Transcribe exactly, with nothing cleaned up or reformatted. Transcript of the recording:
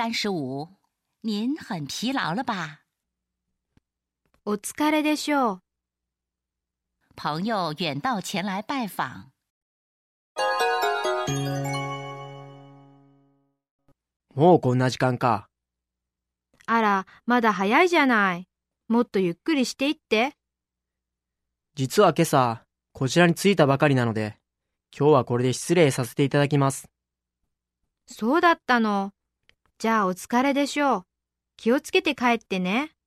三十五，您很疲劳了吧？ お疲れでしょう。 朋友远道前来拜访。 もうこんな時間か。 あら、まだ早いじゃない。もっとゆっくりしていって。 実は今朝、こちらに着いたばかりなので、今日はこれで失礼させていただきます。 そうだったの。じゃあお疲れでしょう。気をつけて帰ってね。